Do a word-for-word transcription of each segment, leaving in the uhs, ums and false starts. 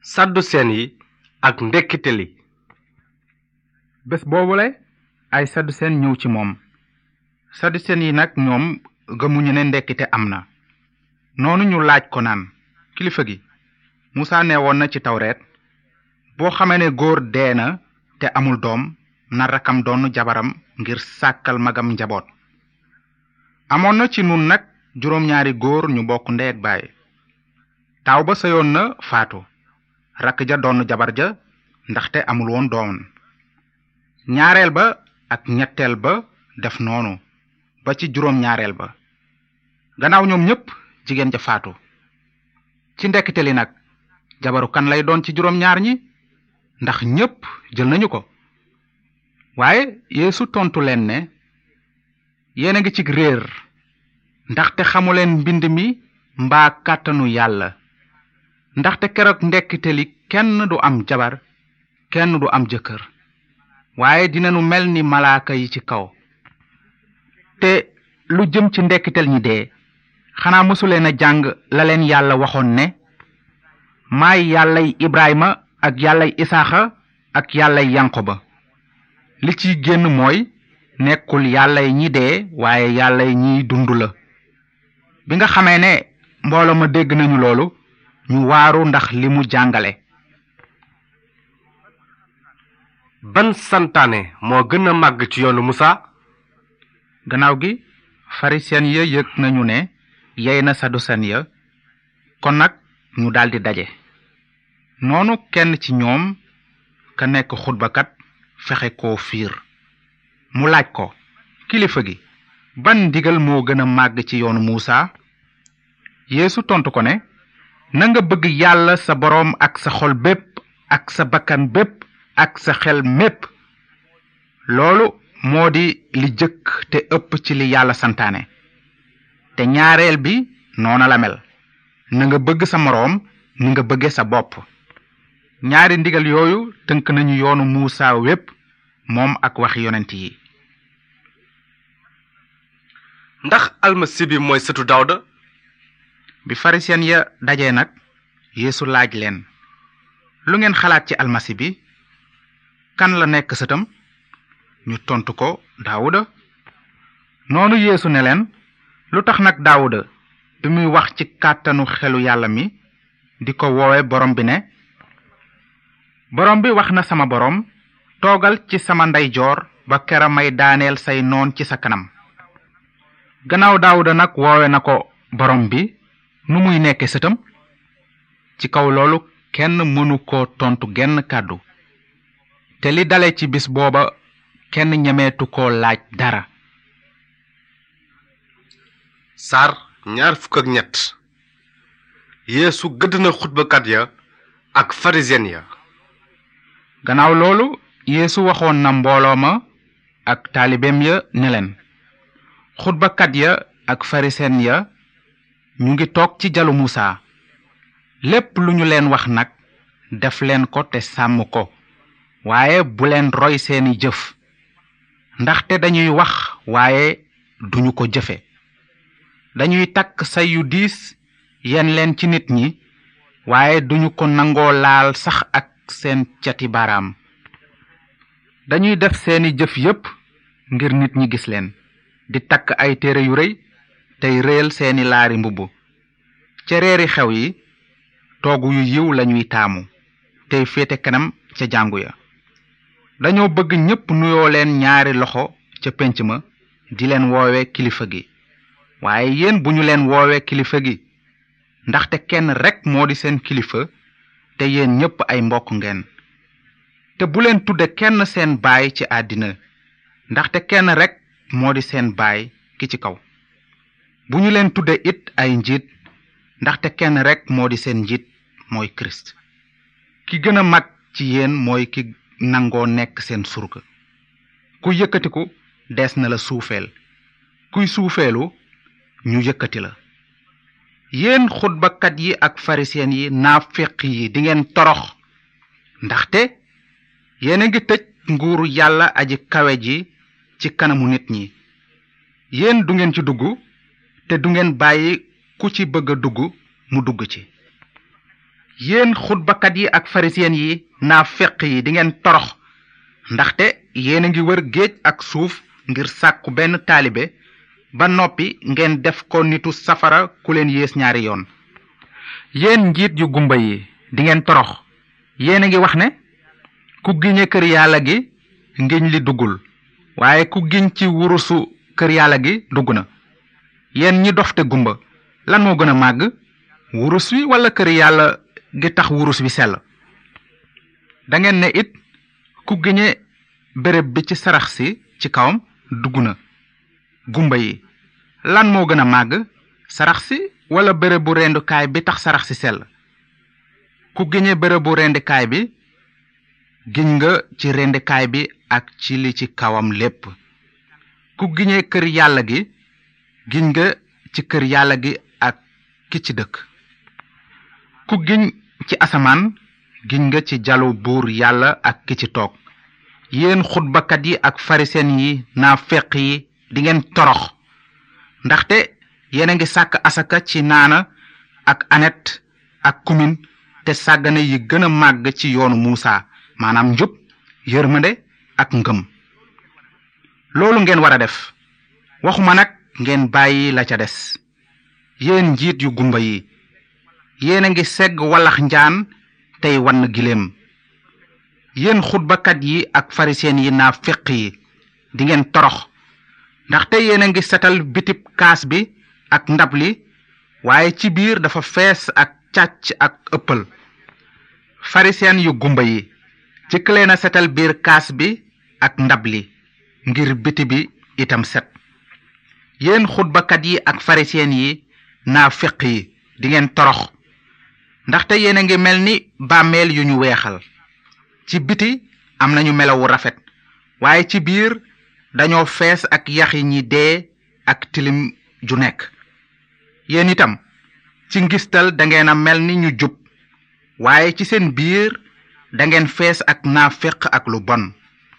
sadduseen yi ak ndekkite li. bés boobule ay sadduseen ñëw ci moom. sadduseen yi nag ñoom gëmuñu ne ndekkite am na. noonu ñu laaj ko naan kilifa gi Musaa nee woon na ci tawreet boo xamee ne góor dee na te amul doom na rakkam doon jabaram ngir sàkkal magam njaboot. amoon na ci nun nag juróom-ñaari góor ñu bokk ndey ak baay. taaw ba sëyoon na faatu rakk ja doon jabar ja ndaxte amul woon doom. ñaareel ba ak ñetteel ba def noonu ba ci juróom-ñaareel ba. gannaaw ñoom ñépp jigéen ja faatu. ci ndekkite li nag jabaru kan lay doon ci juróom-ñaar ñi ndax ñépp jël nañu ko. waaye Yeesu tontu leen ne yéen a ngi ci réer ndaxte xamuleen mbind mi mbaa kàttanu yàlla. ndaxte keroog ndekkite li kenn du am jabar kenn du am jëkkër waaye dinañu mel ni malaaka yi ci kaw. te lu jëm ci ndekkitel ñi dee xanaa mësuleen a jàng la leen yàlla waxoon ne maay yàllay Ibrahima ak yàllay Isaaxa ak yàllay Yankoba. li ciy génn mooy nekkul yàllay ñi dee waaye yàllay ñiy dund la. bi nga xamee ne mbooloo ma dégg nañu loolu ñu waaru ndax li mu jàngale. ban santaane moo gën a màgg ci yoonu Musaa? gannaaw gi farisiyen ya yëg nañu ne yey na sadduseen ya kon nag ñu daldi daje. noonu kenn ci ñoom ka nekk xutbakat fexe koo fiir. mu laaj ko kilifa gi ban ndigal moo gën a màgg ci yoonu Musaa? Yeesu tontu ko ne na nga bëgg yàlla sa boroom ak sa xol bépp ak sa bakkan bépp ak sa xel mépp. loolu moo di li jëkk te ëpp ci li yàlla santaane. te ñaareel bi noona la mel na nga bëgg sa moroom ni nga bëgge sa bopp. ñaari ndigal yooyu tënk nañu yoonu Musaa wépp moom ak waxi yonent yi. ndax almasi bi mooy sëtu Dawda? bi farisiyen ya dajee nag Yeesu laaj leen lu ngeen xalaat ci almasi bi kan la nekk sëtam? ñu tontu ko Daawuda. noonu Yeesu ne leen lu tax nag Daawuda bi muy wax ci kàttanu xelu yàlla mi di ko woowe borom bi ne borom bi wax na sama borom toogal ci sama ndeyjoor ba kera may daaneel say noon ci sa kanam. gannaaw Daawuda nag woowe na ko borom bi nu muy nekke sëtam? ci kaw loolu kenn mënu ko tontu genn kàddu. te li dale ci bis booba kenn ñemeetu ko laaj dara. saar ñaar fukk ak ñett. Yeesu gëdd na xutbakat ya ak farisiyen ya. gannaaw loolu Yeesu waxoon na mbooloo ma ak taalibeem ya ne leen xutbakat ya ak farisiyen ya ñu ngi toog ci jalu Musaa. lépp lu ñu leen wax nag def leen ko te sàmm ko waaye bu leen roy seeni jëf ndaxte dañuy wax waaye duñu ko jëfe. dañuy takk say yu diis yen leen ci nit ñi waaye duñu ko nangoo laal sax ak seen cati baaraam. dañuy def seeni jëf yépp ngir nit ñi gis leen di takk ay téere yu rëy tey réel seeni laari mbubb. ca reeri xew yi toogu yu yiw lañuy taamu tey féete kanam ca jàngu ya. dañoo bëgg ñépp nuyoo leen ñaari loxo ca pénc ma di leen woowe kilifa gi. waaye yéen bu ñu leen woowe kilifa gi ndaxte kenn rekk moo di seen kilifa te yéen ñépp ay mbokk ngeen. te bu leen tudde kenn seen baay ci àddina ndaxte kenn rekk moo di seen baay ki ci kaw. bu ñu leen tudde it ay njiit ndaxte kenn rekk moo di seen njiit mooy Kirist. ki gën a mag ci yéen mooy ki nangoo nekk seen surga. ku yëkkatiku dees na la suufeel kuy suufeelu ñu yëkkati la. yéen xutbakat yi ak farisiyen yi naafeq yi dingeen torox ndaxte yéen a ngi tëj nguuru yàlla aji kawe ji ci kanamu nit ñi. yéen du ngeen ci dugg te du ngeen bàyyi ku ci bëgg a dugg mu dugg ci. yéen xutbakat yi ak farisiyen yi naafeq yi di ngeen torox ndaxte yéen a ngi wër géej ak suuf ngir sàkku benn taalibe ba noppi ngeen def ko nitu safara ku leen yées ñaari yoon. yéen njiit yu gumba yi di ngeen torox yéen a ngi wax ne ku giñe kër yàlla gi ngiñ li duggul waaye ku giñ ci wurusu kër yàlla gi dugg na. yéen ñi dofte gumba lan moo gën a màgg wurus wi wala kër yàlla gi tax wurus wi sell. da ngeen ne it ku giñe béréb bi ci sarax si ci kawam dugg na. gumba yi lan moo gën a màgg sarax si wala béréb bu rendukaay bi tax sarax si sell. ku giñe béréb bu rendikaay bi giñ nga ci rendikaay bi ak ci li ci kawam lépp. ku giñe kër yàlla gi giñ nga ci kër yàlla gi ak ki ci dëkk. ku giñ ci asamaan giñ nga ci jalu buur yàlla ak ki ci toog. yéen xutbakat yi ak farisen yi naafeq yi di ngeen torox ndaxte yéen a ngi sàkk asaka ci naana ak anet ak kumin te sàggane yi gën a màgg ci yoonu Muusa maanaam njub yërmande ak ngëm. loolu ngeen war a def waxuma nag ngeen bàyyi la ca des. yéen njiit yu gumba yi yéen a ngi segg wallax njaan tey wann giléem. yéen xutbakat yi ak farisiyen yi naafeq yi di ngeen torox ndaxte yéen a ngi setal bitib kaas bi ak ndab li waaye ci biir dafa fees ak càcc ak ëppal. farisiyen yu gumba yi jëkk leen a setal biir kaas bi ak ndab li ngir biti bi itam set. yéen xutbakat yi ak farisiyen yi naafeq yi di ngeen torox ndaxte yéen a ngi mel ni bàmmeel yu ñu weexal. ci biti am nañu melawu rafet waaye ci biir dañoo fees ak yaxi ñi dee ak tilim ju nekk. yéen itam ci ngistal dangeen a mel ni ñu jub waaye ci seen biir dangeen fees ak naafeq ak lu bon.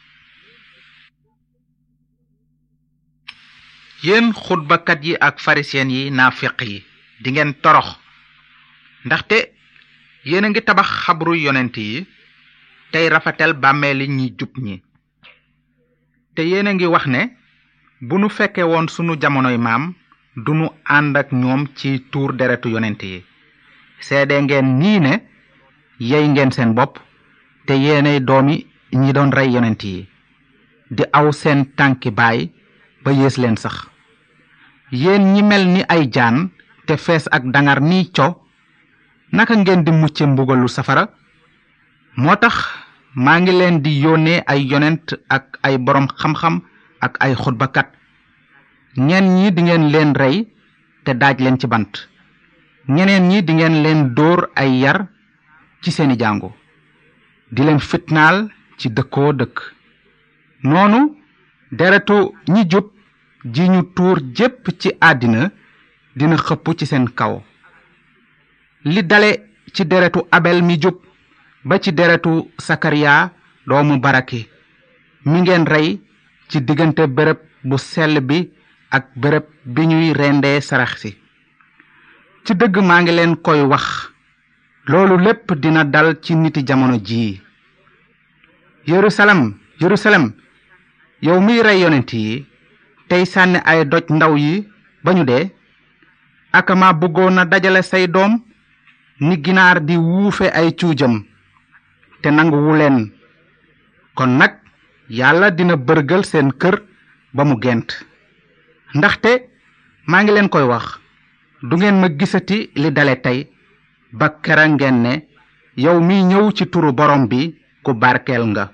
yéen xutbakat yi ak farisiyen yi naafeq yi di ngeen torox ndaxte yéen a ngi tabax xabru yonent yi tey rafetal bàmmeeli ñi jub ñi. te yéen a ngi wax ne bu nu fekke woon sunu jamonoy maam dunu ànd ak ñoom ci tuur deretu yonent yi. seede ngeen nii ne yey ngeen seen bopp te yéenay doomi ñi doon rey yonent yi di aw seen tànki baay ba yées leen sax. yéen ñi mel ni ay jaan te fees ak dangar ni co naka ngeen di mucce mbugalu safara. moo tax maa ngi leen di yónnee ay yonent ak ay borom xam-xam ak ay xutbakat. ñenn ñi di ngeen leen rey te daaj leen ci bant ñeneen ñi di ngeen leen dóor ay yar ci seeni jàngu di leen fitnaal ci dëkkoo dëkk. noonu deretu ñi jub ji ñu tuur jépp ci àddina dina xëpp ci seen kaw. li dale ci deretu Abel mi jub ba ci deretu Sakariya doomu Baraki mi ngeen rey ci diggante béréb bu sell bi ak béréb bi ñuy rendee sarax si. ci dëgg maa ngi leen koy wax loolu lépp dina dal ci niti jamono jii. Yerusalem Yerusalem yow miy rey yonent yi tey sànni ay doj ndaw yi ba ñu dee akama bëggoon na dajale say doom ni ginaar di wuufe ay cuujam te nanguwu leen. kon nag yàlla dina bërgal seen kër ba mu gent. ndaxte maa ngi leen koy wax du ngeen ma gisati li dale tey ba kera ngeen ne yow mi ñëw ci turu borom bi ku barkeel nga.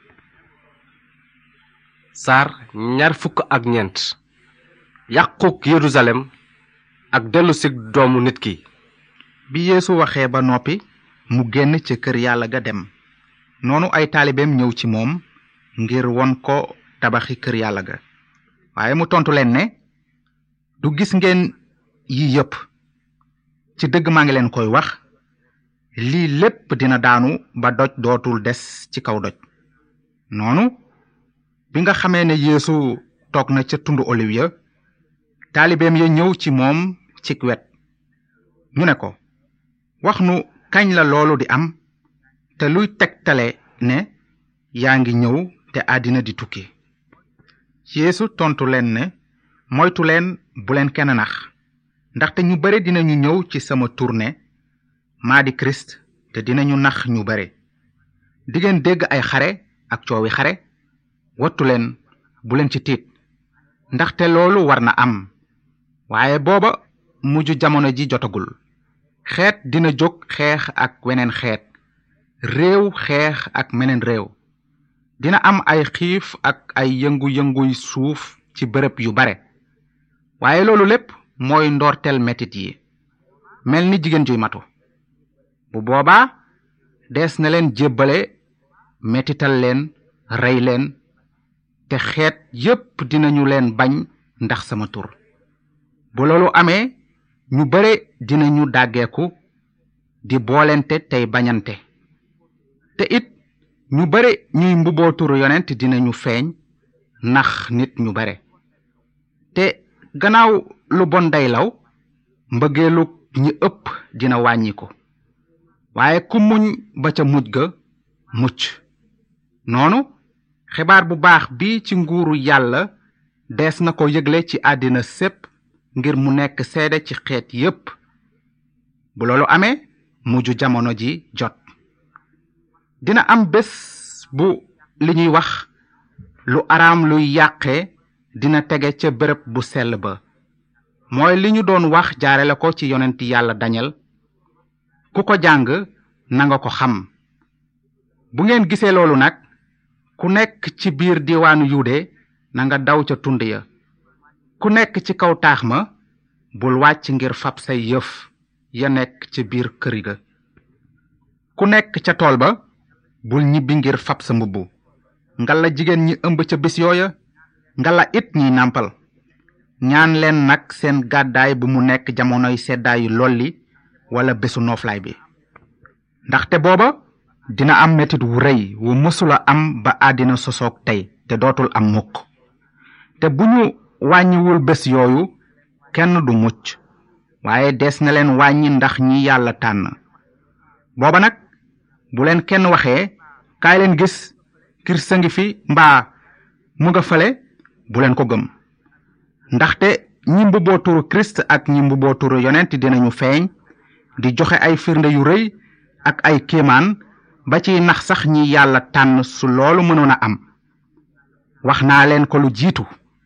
saar ñaar fukk ak ñeent. yàquk Yerusalem ak dellusig doomu nit ki. bi Yeesu waxee ba noppi mu génn ca kër yàlla ga dem. noonu ay taalibeem ñëw ci moom ngir won ko tabaxi kër yàlla ga. waaye mu tontu leen ne du gis ngeen yi yépp. ci dëgg maa ngi leen koy wax lii lépp dina daanu ba doj dootul des ci kaw doj. noonu bi nga xamee ne Yeesu toog na ca tundu oliw ya taalibeem ya ñëw ci moom cig wet. ñu ne ko wax nu kañ la loolu di am te luy tegtale ne yaa ngi ñëw te àddina di tukki. Yeesu tontu leen ne moytu leen bu leen kenn nax ndaxte ñu bare dinañu ñëw ci sama tur ne maa di Kirist te dinañu nax ñu bare. di ngeen dégg ay xare ak coowi xare wattu leen bu leen ci tiit ndaxte loolu war na am waaye booba mujj jamono ji jotagul. xeet dina jóg xeex ak weneen xeet, réew xeex ak meneen réew. dina am ay xiif ak ay yëngu-yënguy suuf ci bërëb yu bare waaye loolu lépp mooy ndorteel metit yi mel ni jigéen juy matu. bu boobaa dees na leen jébbale metital leen rey leen te xeet yépp dinañu leen bañ ndax sama tur. bu loolu amee ñu bare dinañu dàggeeku di boolente tey bañante te it ñu bare ñuy mbubboo turu yonent dinañu feeñ nax nit ñu bare. te gannaaw lu bon day law mbëggeelu ñi ëpp dina wàññiku waaye ku muñ ba ca mujj ga mucc. noonu xibaar bu baax bi ci nguuru yàlla dees na ko yëgle ci àddina sépp ngir mu nekk seede ci xeet yépp. bu loolu amee mujj jamono ji jot. dina am bés bu li ñuy wax lu araam luy yàqe dina tege ca bërëb bu sell ba mooy li ñu doon wax jaarale ko ci yonent yàlla Dañel. ku ko jàng nanga ko xam. bu ngeen gisee loolu nag ku nekk ci biir diwaanu Yude nanga daw ca tund ya. ku nekk ci kaw taax ma bul wàcc ngir fab say yëf ya nekk ci biir kër ga. ku nekk ca tool ba bul ñibbi ngir fab sa mbubb. ngalla jigéen ñi ëmb ca bés yooya ngalla it ñiy nàmpal. ñaan leen nag seen gàddaay bu mu nekk jamonoy seddaayu lolli wala bésu nooflaay bi ndaxte booba dina am metit wu rëy wu mësula am ba àddina sosoog tey te dootul am mukk. te bu ñu wàññiwul bés yooyu kenn du mucc waaye des na leen wàññi ndax ñi yàlla tànn. booba nag bu leen kenn waxee kaay leen gis Kirist a ngi fi mbaa mu nga fale bu leen ko gëm ndaxte ñi mbubboo turu Kirist ak ñi mbubboo turu yonent dinañu feeñ di joxe ay firnde yu rëy ak ay kéemaan ba ci nax sax ñi yàlla tànn su loolu mënoon a am. wax naa leen ko lu jiitu.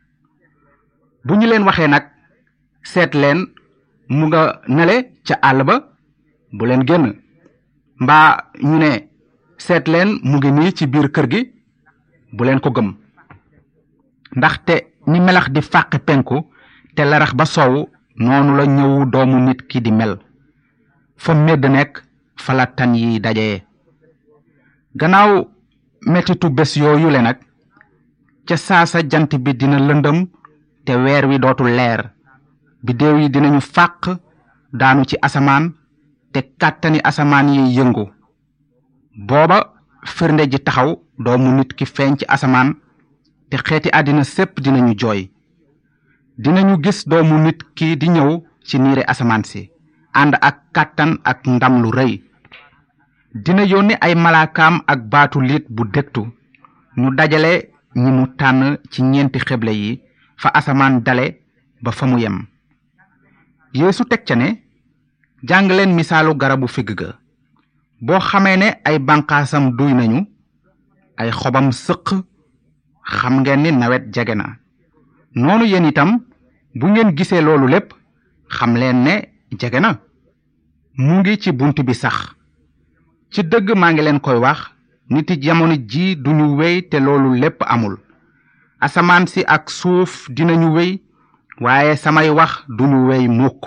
bu ñu leen waxee nag seet leen mu nga nele ca àll ba bu leen génn mbaa ñu ne seet leen mu ngi nii ci biir kër gi bu leen ko gëm ndaxte ni melax di fàqe penku te larax ba soowu noonu la ñëwu doomu nit ki di mel. fa medd nekk fa la tan yi dajee. gannaaw mettitu bés yooyu le nag ca saasa jant bi dina lëndëm te weer wi dootul leer. biddéew yi dinañu fàq daanu ci asamaan te kàttani asamaan yi yëngu. booba firnde ji taxaw doomu nit ki feeñ ci asamaan te xeeti àddina sépp dinañu jooy. dinañu gis doomu nit ki di ñëw ci niire asamaan si ànd ak kàttan ak ndam lu rëy. dina yónni ay malaakaam ak baatu liit bu dégtu ñu dajale ñi mu tànn ci ñeenti xeble yi fa asamaan dale ba fa mu yem. Yeesu teg ca ne jàng leen misaalu garabu figg ga. boo xamee ne ay banqaasam duy nañu ay xobam sëq xam ngeen ni nawet jege na. noonu yéen itam bu ngeen gisee loolu lépp xam leen ne jege na. mu ngi ci bunt bi sax. ci dëgg maa ngi leen koy wax niti jamono ji duñu wéy te loolu lépp amul. asamaan si ak suuf dinañu wéy waaye samay wax duñu wéy mukk.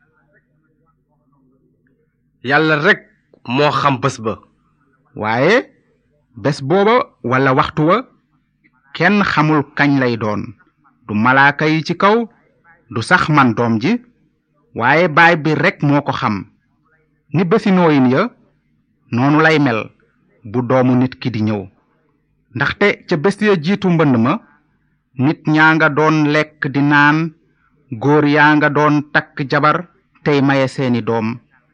yàlla rekk moo xam bés ba. waaye bés booba walla waxtu wa kenn xamul kañ lay doon. du malaaka yi ci kaw du sax man doom ji waaye baay bi rekk moo ko xam. ni bési nooyin ya noonu lay mel bu doomu nit ki di ñëw. ndaxte ca bés ya jiitu mbënd ma nit ñaa nga doon lekk di naan góor yaa nga doon takk jabar tey maye seeni doom.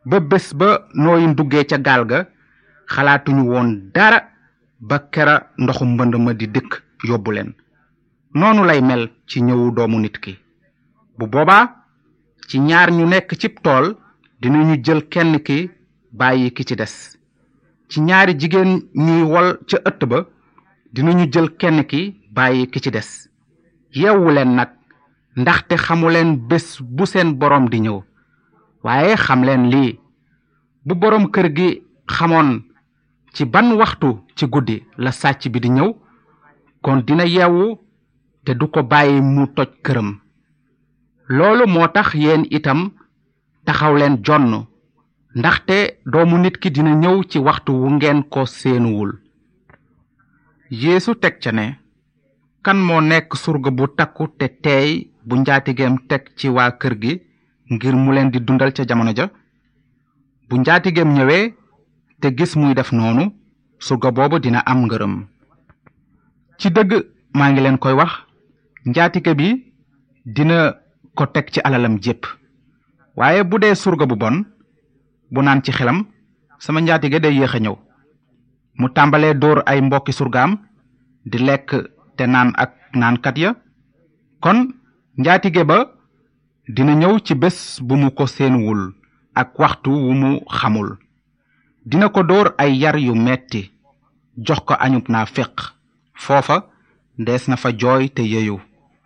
ba bés ba nooyin duggee ca gaal ga xalaatuñu woon dara ba kera ndoxu mbënd ma di dëkk yóbbu leen. noonu lay mel ci ñëwu doomu nit ki. bu boobaa ci ñaar ñu nekk cib tool dinañu jël kenn ki bàyyi ki ci des. ci ñaari jigéen ñuy wol ca ëtt ba dinañu jël kenn ki bàyyi ki ci des. yeewu leen nag ndaxte xamuleen bés bu seen boroom di ñëw. waaye xam leen lii, bu boroom kër gi xamoon ci ban waxtu ci guddi la sàcc bi di ñëw kon dina yeewu te du ko bàyyi mu toj këram. loolu moo tax yéen itam taxaw leen jonn ndaxte doomu nit ki dina ñëw ci waxtu wu ngeen ko seenuwul. Yeesu teg ca ne, kan moo nekk surga bu takku te teey bu njaatigeem teg ci waa kër gi ngir mu leen di dundal ca jamono ja? bu njaatigeem ñëwee te gis muy def noonu, surga boobu dina am ngërëm. ci dëgg maa ngi leen koy wax, njaatige bi dina ko teg ci alalam jépp. waaye bu dee surga bu bon bu naan ci xelam, sama njaatige day yéex a ñëw, mu tàmbalee dóor ay mbokki surgaam di lekk te naan ak naankat ya, kon njaatige ba dina ñëw ci bés bu mu ko seenuwul ak waxtu wu mu xamul. dina ko dóor ay yar yu metti, jox ko añub naa féq, foofa dees na fa jooy te yeyu.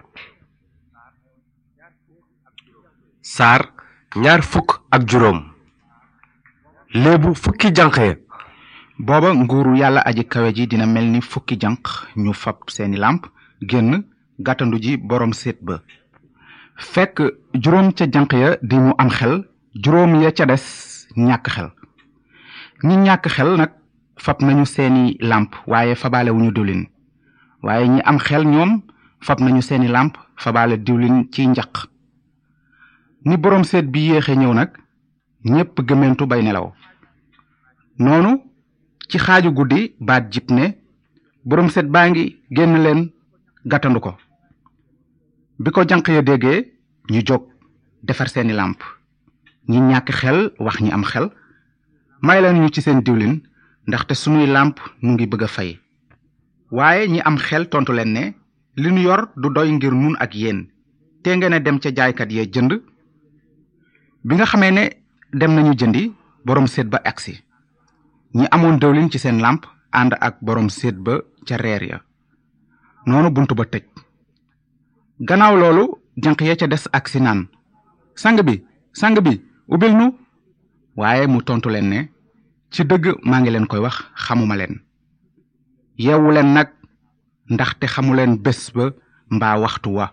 saar ñaar fukk ak juróom. léebu fukki janq ya. booba nguuru yàlla aji kawe ji dina mel ni fukki janq ñu fab seeni làmp génn gàttandu ji boroom séet ba. fekk juróom ca janq ya di mu am xel, juróom ya ca des ñàkk xel. ñi ñàkk xel nag fab nañu seeni làmp waaye fabaale wuñu diwlin, waaye ñi am xel ñoom fab nañu seeni làmp fabaale diwlin ci njaq. ni boroom séet bi yéexe ñëw nag ñépp gëmentu bay nelaw. noonu ci xaaju guddi baat jib ne, boroom séet baa ngi génn leen gàttandu ko. bi ko janq ya déggee ñu jóg defar seeni làmp. ñi ñàkk xel wax ñi am xel, may leen ñu ci seen diwlin ndaxte sunuy làmp nu ngi bëgg a fay. waaye ñi am xel tontu leen ne, li nu yor du doy ngir nun ak yéen, te ngeen a dem ca jaaykat ya jënd. bi nga xamee ne dem nañu jëndi, boroom séet ba agsi. ñi amoon diwlin ci seen làmp ànd ak boroom séet ba ca reer ya. noonu buntu ba tëj. gannaaw loolu janq ya ca des agsi naan, sang bi sang bi ubbil nu. waaye mu tontu leen ne, ci dëgg maa ngi leen koy wax, xamuma leen. yeewu leen nag ndaxte xamuleen bés ba mbaa waxtu wa.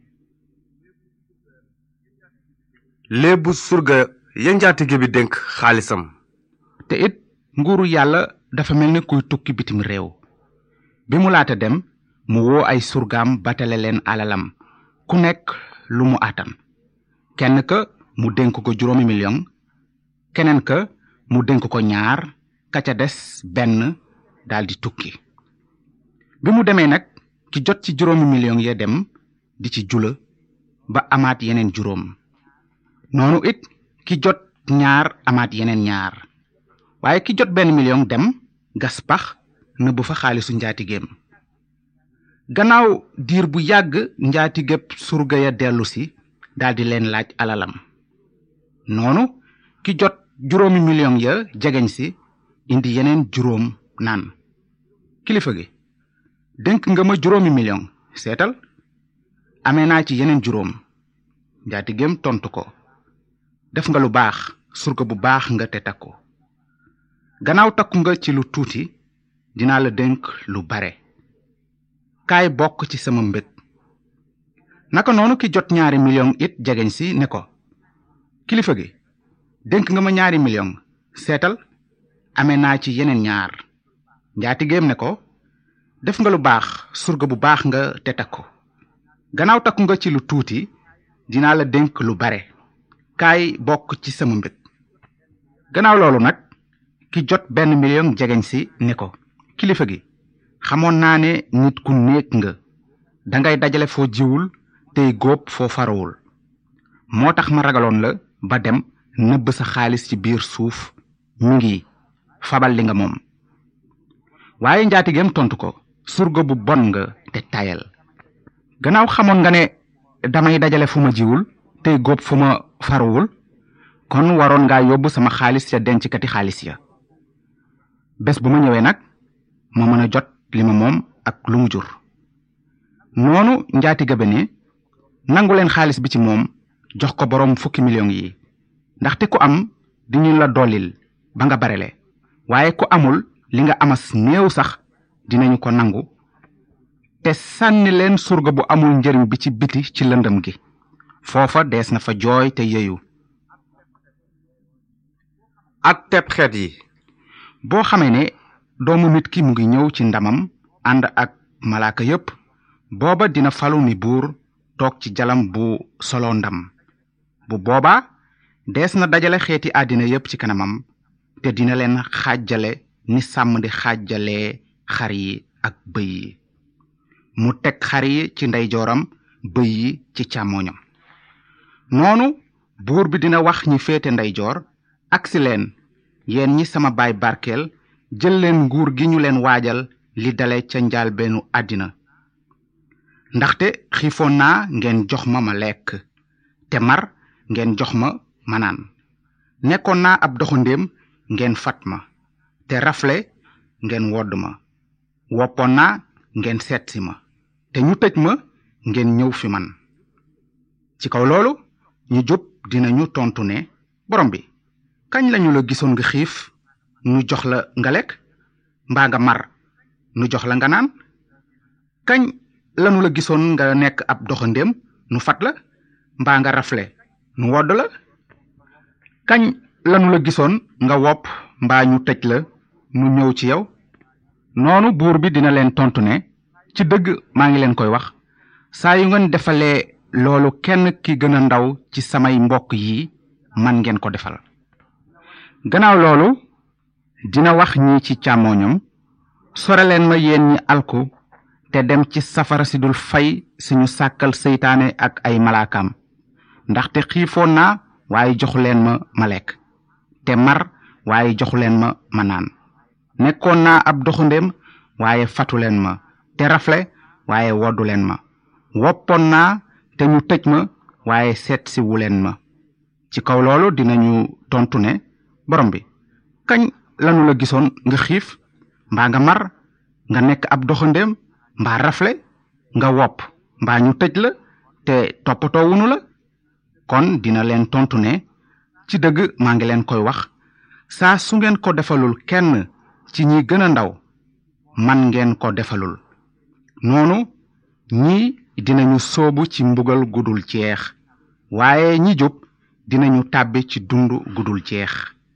léebu surga ya njaatige bi dénk xaalisam. te it nguuru yàlla dafa mel ni kuy tukki bitim réew. bi mu laata dem mu woo ay surgaam batale leen alalam, ku nekk lu mu àttan. kenn ka mu dénk ko juróomi million, keneen ka mu dénk ko ñaar, ka ca des benn daldi tukki. bi mu demee nag ki jot ci juróomi million ya dem di ci jula ba amaat yeneen juróom. noonu it ki jot ñaar amaat yeneen ñaar. waaye ki jot benn million dem gas pax nëbb fa xaalisu njaatigeem. gannaaw diir bu yàgg njaatigépp surga ya dellu si daldi leen laaj alalam. noonu ki jot juróomi million ya jegeñ si indi yeneen juróom naan, kilifa gi dénk nga ma juróomi million, seetal amee naa ci yeneen juróom. njaatigéem tontu ko, def nga lu baax, surga bu baax nga te takku. gannaaw takku nga ci lu tuuti, dinaa la dénk lu bare. kaay bokk ci sama mbég. naka noonu ki jot ñaari million it jegeñ si ne ko, kilifa gi dénk nga ma ñaari million, seetal amee naa ci yeneen ñaar. njaatigéem ne ko, def nga lu baax, surga bu baax nga te takku. gannaaw takku nga ci lu tuuti, dinaa la dénk lu bare. kaay bokk ci sama mbég. gannaaw loolu nag ki jot benn million jegeñ si ne ko, kilifa gi xamoon naa ne nit ku néeg nga, dangay dajale foo jiwul tey góob foo farawul. moo tax ma ragaloon la ba dem nëbb sa xaalis ci biir suuf mi ngi fabal li nga moom. waaye njaatigeem tontu ko, surga bu bon nga te tayal. gannaaw xamoon nga ne damay dajale fu ma jiwul tey góob fu ma faruwul, kon waroon ngaa yóbbu sama xaalis ca denckati xaalis ya. bés bu ma ñëwee nag ma mën a jot li ma moom ak lu mu jur. noonu njaatige ba ne, nangu leen xaalis bi ci moom jox ko boroom fukki millions yi, ndaxte ku am diñu la dollil ba nga barele, waaye ku amul li nga amas néew sax dinañu ko nangu. te sànni leen surga bu amul njëriñ bi ci biti ci lëndëm gi, foofa dees na fa jooy te yeyu. ak teb xeet yi. boo xamee ne doomu nit ki mu ngi ñëw ci ndamam ànd ak malaaka yépp, booba dina falu ni buur toog ci jalam bu solo ndam. bu booba dees na dajale xeeti àddina yépp ci kanamam, te dina leen xaajale ni sàmm di xaajalee xar yi ak bëy yi. mu teg xar yi ci ndeyjooram, bëy yi ci càmmooñam. noonu buur bi dina wax ñi féete ndeyjoor, agsi leen yéen ñi sama baay barkeel, jël leen nguur gi ñu leen waajal li dale ca njaalbeenu àddina. ndaxte xiifoon naa ngeen jox ma ma lekk, te mar ngeen jox ma ma naan. nekkoon naa ab doxandéem ngeen fat ma, te rafle ngeen wodd ma. woppoon naa ngeen seetsi ma, te ñu tëj ma ngeen ñëw fi man. ci kaw loolu ñu jub dinañu tontu ne, borom bi, kañ lañu la gisoon nga xiif nu jox la nga lekk, mbaa nga mar nu jox la nga naan? kañ lanu la gisoon nga nekk ab doxandéem nu fat la, mbaa nga rafle nu wodd la? kañ lanu la gisoon nga wopp mbaa ñu tëj la nu ñëw ci yow? noonu buur bi dina leen tontu ne, ci dëgg maa ngi leen koy wax, saa yu ngeen defalee loolu kenn ki gën a ndaw ci samay mbokk yi, man ngeen ko defal. gannaaw loolu dina wax ñi ci càmmooñam, sore leen ma yéen ñi alku te dem ci safara si dul fay si ñu sàkkal seytaane ak ay malaakaam. ndaxte xiifoon naa waaye joxu leen ma ma lekk, te mar waaye joxu leen ma ma naan. nekkoon naa ab doxandéem waaye fatu leen ma, te rafle waaye woddu leen ma. woppoon naa te ñu tëj ma waaye seet si wu leen ma. ci kaw loolu dinañu tontu ne, borom bi, kañ lanu la gisoon nga xiif mbaa nga mar, nga nekk ab doxandéem mbaa rafle, nga wopp mbaa ñu tëj la te toppatoo wunu la? kon dina leen tontu ne, ci dëgg maa ngi leen koy wax, saa su ngeen ko defalul kenn ci ñi gën a ndaw, man ngeen ko defalul. noonu ñii dinañu soobu ci mbugal gudul jeex, waaye ñi jub dinañu tàbbi ci dund gudul jeex.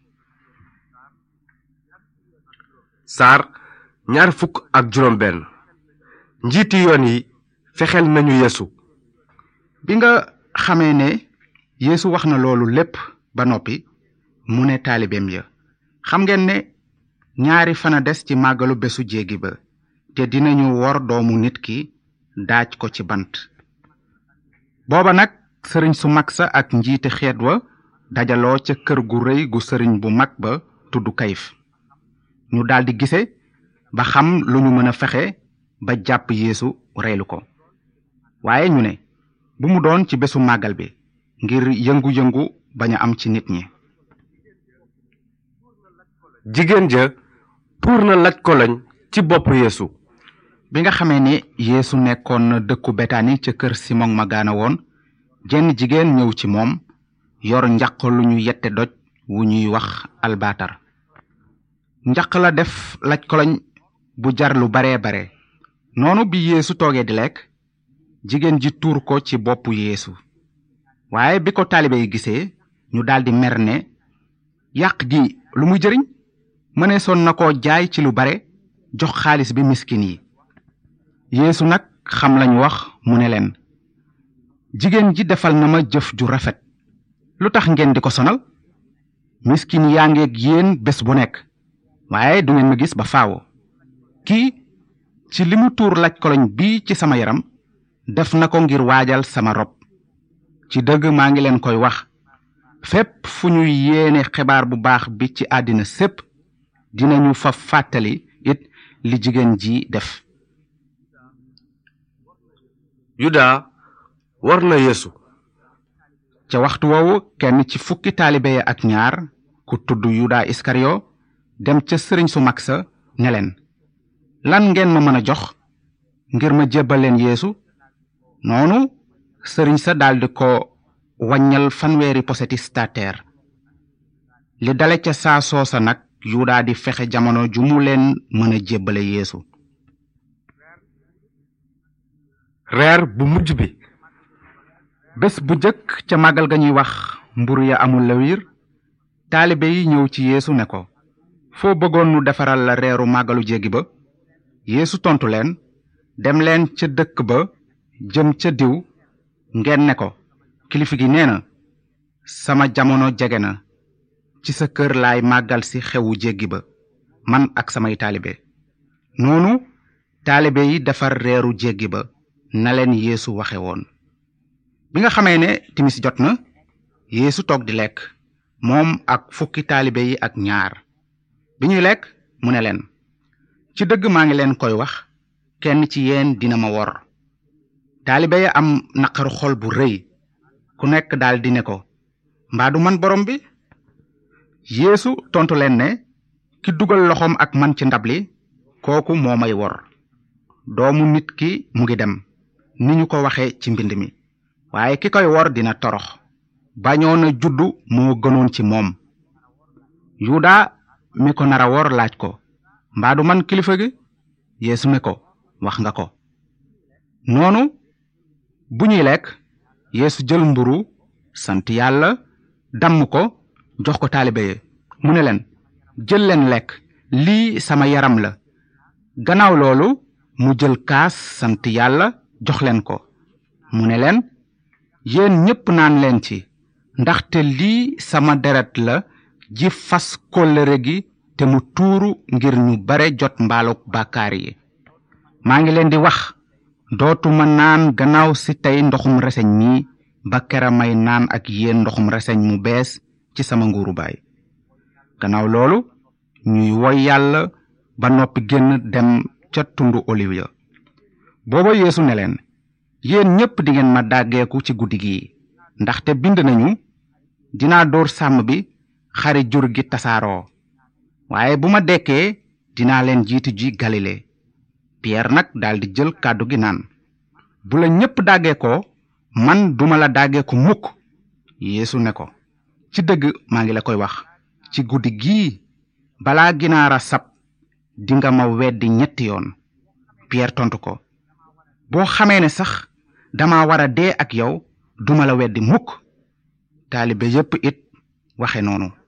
saar ñaar fukk ak juróom benn. njiiti yoon yi fexeel nañu yeesu. bi nga xamee ne yeesu wax na loolu lépp ba noppi, mu ne taalibeem ya, xam ngeen ne ñaari fana des ci màggalu bésu jéegi ba, te dinañu wor doomu nit ki daaj ko ci bant. booba nag sëriñ su mag sa ak njiite xeet wa dajaloo ca kër gu rëy gu sëriñ bu mag ba tudd Kayif. ñu daldi gise ba xam lu ñu mën a fexe ba jàpp yeesu reylu ko. waaye ñu ne bu mu doon ci bésu màggal bi, ngir yëngu-yëngu bañ a am ci nit ñi. jigéen ja tuur na laj koloñ ci bopp yeesu. bi nga xamee ne yeesu nekkoon na dëkku betani ca kër simon ma gaana woon, jenn jigéen ñëw ci moom yor njaq lu ñu yette doj wu ñuy wax albaatar. njaq la def laj koloñ bu jar lu bare bare. noonu bi yeesu toogee di lekk, jigéen ji tuur ko ci boppu yeesu. waaye bi ko taalibe yi gisee, ñu daldi mer ne, yàq gi lu muy jëriñ? mëneesoon na ko jaay ci lu bare, jox xaalis bi miskin yi. yeesu nag xam lañu wax, mu ne leen, jigéen ji defal na ma jëf ju rafet, lu tax ngeen di ko sonal? miskin yaa ngeeg yéen bés bu nekk, waaye du ngeen ma gis ba faawo. kii ci li mu tuur laj koloñ bii ci sama yaram, def na ko ngir waajal sama rob. ci dëgg maa ngi leen koy wax, fépp fu ñuy yéene xibaar bu baax bi ci àddina sépp dinañu fa fàttali it li jigéen ji def. yuda war na yeesu. ca waxtu woowu kenn ci fukki taalibe ya ak ñaar ku tudd yuda iskariyo dem ca sëriñ su mag sa ne leen, lan ngeen ma mën a jox ngir ma jébbal leen yeesu? noonu sëriñ sa daldi ko wàññal fanweeri poseti stater. li dale ca saa soosa nag yuda di fexe jamono ju mu leen mën a jébbale yeesu. reer bu mujj bi. bés bu jëkk ca màggal ga ñuy wax mburu ya amul lawir, taalibe yi ñëw ci yeesu ne ko, foo bëggoon nu defaral la reeru màggalu jéggi ba? yeesu tontu leen, dem leen ca dëkk ba jëm ca diw ngeen ne ko, kilifa gi nee na, sama jamono jege na, ci sa kër laay màggal si xewu jéggi ba man ak samay taalibe. noonu taalibe yi defar reeru jéggi ba na leen yeesu waxe woon. bi nga xamee ne timis jot na, yeesu toog di lekk moom ak fukki taalibe yi ak ñaar. bi ñuy lekk mu ne leen, ci dëgg maa ngi leen koy wax, kenn ci yéen dina ma wor. taalibe ya am naqaru xol bu rëy, ku nekk daal di ne ko, mbaa du man borom bi? yeesu tontu leen ne, ki dugal loxoom ak man ci ndab li kooku moo may wor. doomu nit ki mu ngi dem ni ñu ko waxe ci mbind mi, waaye ki koy wor dina torox. bañoon a juddu moo gënoon ci moom. yuda mi ko nara wor laaj ko, mbaa du man kilifa gi? yeesu ne ko, wax nga ko. noonu bu ñuy lekk, yeesu jël mburu sant yàlla, damm ko jox ko taalibe yi mu ne leen, jël leen lekk, lii sama yaram la. gannaaw loolu mu jël kaas sant yàlla jox leen ko mu ne leen, yéen ñépp naan leen ci, ndaxte lii sama deret la ji fas kóllëre gi te mu tuuru ngir ñu bare jot mbaaluk bàkkaar yi. maa ngi leen di wax, dootuma naan gannaaw si tey ndoxum reseñ mi ba kera may naan ak yéen ndoxum reseñ mu bees ci sama nguuru baay. gannaaw loolu ñuy woy yàlla ba noppi génn dem ca tundu oliw ya. booba yeesu ne leen, yéen ñépp dingeen ma dàggeeku ci guddi gi, ndaxte bind nañu, dinaa dóor sàmm bi, xari jur gi tasaaroo. waaye bu ma dekkee dinaa leen jiitu ji galile. Pierre nag daldi jël kàddu gi naan, bu la ñépp dàggeekoo man duma la dàggeeku mukk. yeesu ne ko, ci dëgg maa ngi la koy wax, ci guddi gii balaa ginaara sab dinga ma weddi ñetti yoon. Pierre tontu ko, boo xamee ne sax dama war a dee ak yow duma la weddi mukk. taalibe yépp it waxe noonu.